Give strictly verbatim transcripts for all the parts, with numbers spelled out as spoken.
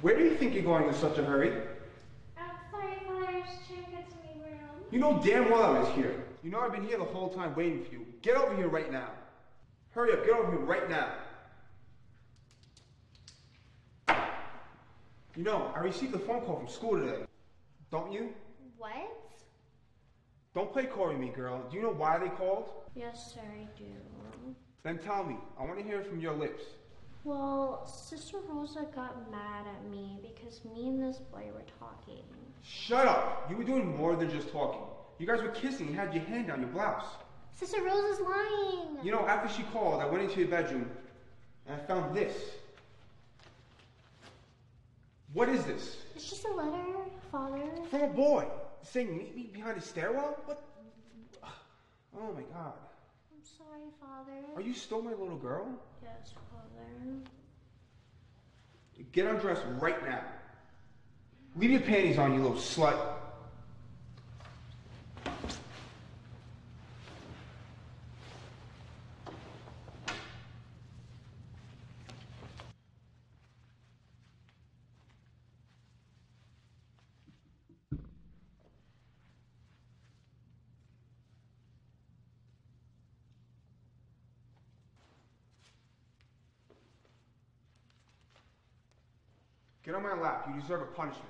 Where do you think you're going in such a hurry? I'm sorry, Father. I was trying to get to my room. You know damn well I was here. You know I've been here the whole time waiting for you. Get over here right now. Hurry up, get over here right now. You know, I received a phone call from school today. Don't you? What? Don't play coy with me, girl. Do you know why they called? Yes, sir, I do. Then tell me. I want to hear it from your lips. Well, Sister Rosa got mad at me because me and this boy were talking. Shut up! You were doing more than just talking. You guys were kissing and had your hand down your blouse. Sister Rosa's lying! You know, after she called, I went into your bedroom and I found this. What is this? It's just a letter, Father. From a boy saying meet me behind the stairwell? What? Oh my god. I'm sorry, Father. Are you still my little girl? Yes, Father. Get undressed right now. Leave your panties on, you little slut. Get on my lap. You deserve a punishment.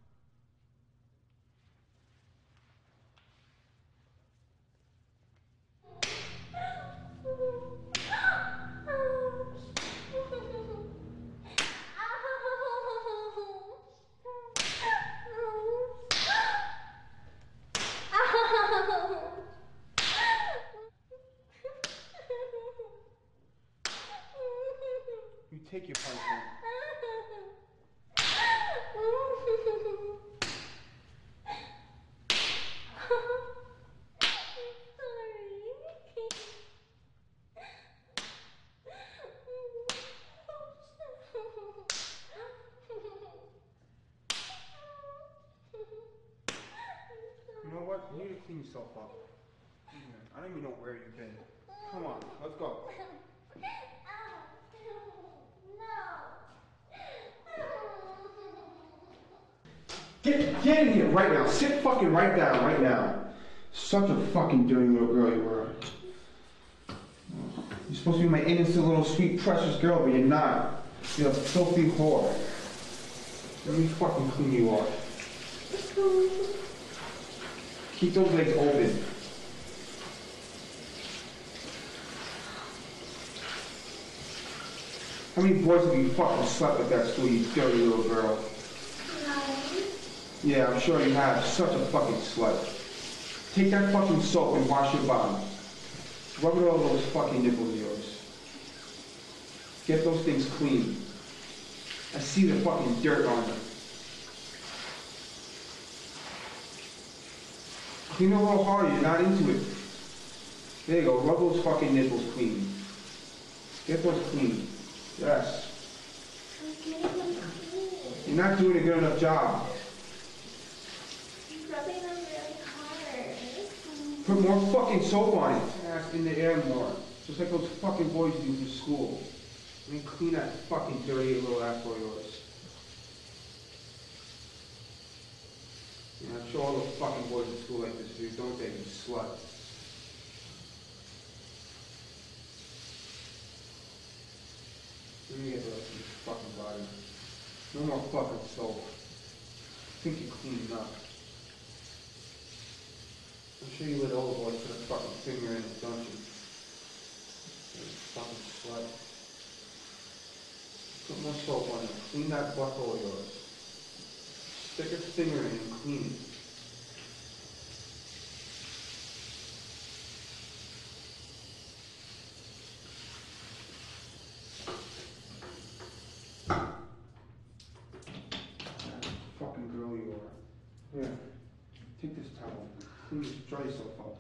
You take your punishment. You know what? You need to clean yourself up. I don't even know where you've been. Come on, let's go. Get, get in here right now. Sit fucking right down right now. Such a fucking dirty little girl you were. You're supposed to be my innocent little sweet precious girl, but you're not. You're a filthy whore. Let me fucking clean you off. Keep those legs open. How many boys have you fucking slept at that school, you dirty little girl? Yeah, I'm sure you have. Such a fucking slut. Take that fucking soap and wash your bottom. Rub it all over those fucking nipples of yours. Get those things clean. I see the fucking dirt on them. Clean a little harder, you're not into it. There you go, rub those fucking nipples clean. Get those clean. Yes. I'm getting them clean. You're not doing a good enough job. I'm rubbing them really hard. Put more fucking soap on it. Ass in the air more. Just like those fucking boys do for school. I mean, clean that fucking dirty little asshole of yours. Yeah, I'm sure all the fucking boys at school like this dude, don't they, you slut? Let me get the rest of this fucking body. No more fucking soap. I think you're clean enough. I'm sure you let all the boys put a fucking finger in it, don't you? You fucking slut. Put more soap on it. Clean that butthole of yours. Stick a finger in and clean it. Fucking girl you are. Here, take this towel. Clean this, dry yourself up.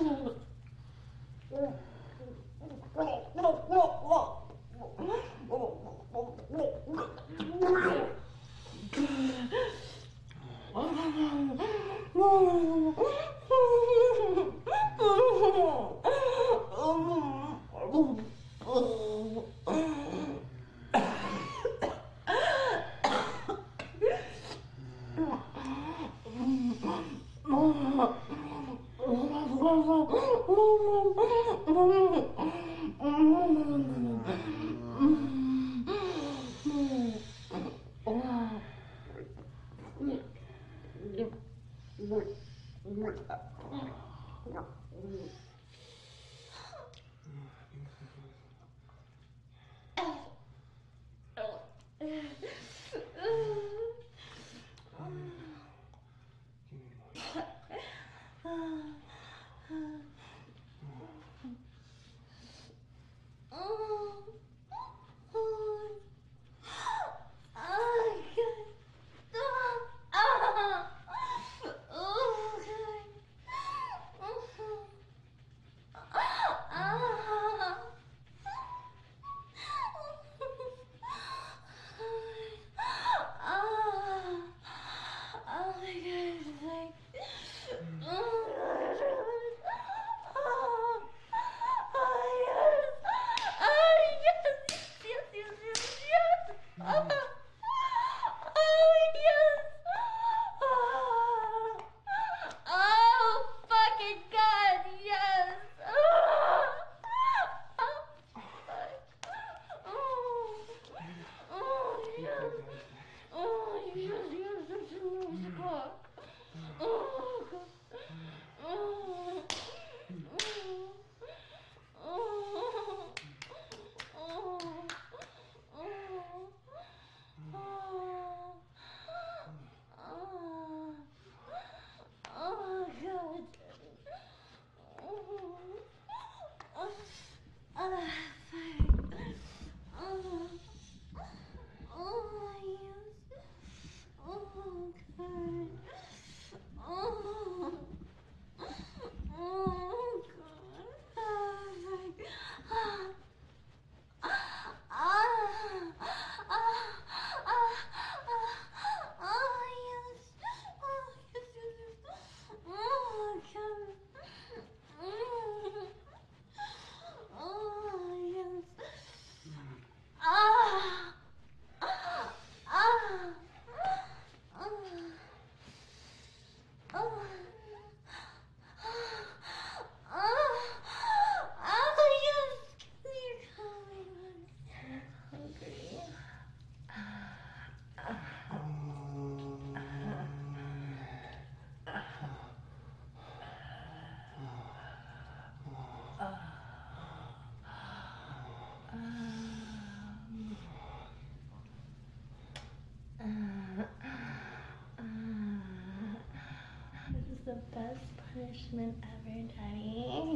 The best punishment ever, Daddy.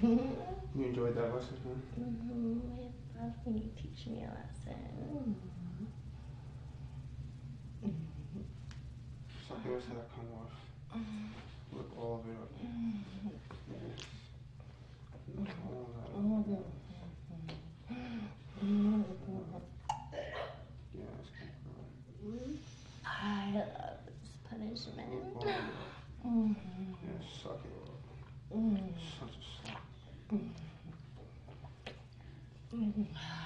You enjoyed that lesson, huh? Mm-hmm. I love when you teach me a lesson. Mm-hmm. So here's how it come off. Look all of it up. Yes. Look all of that up. Yes, good girl. I love this punishment. Look all of it up. Mm-hmm. Yes, suck it up. Mm-hmm. Such a suck. Mm-hmm.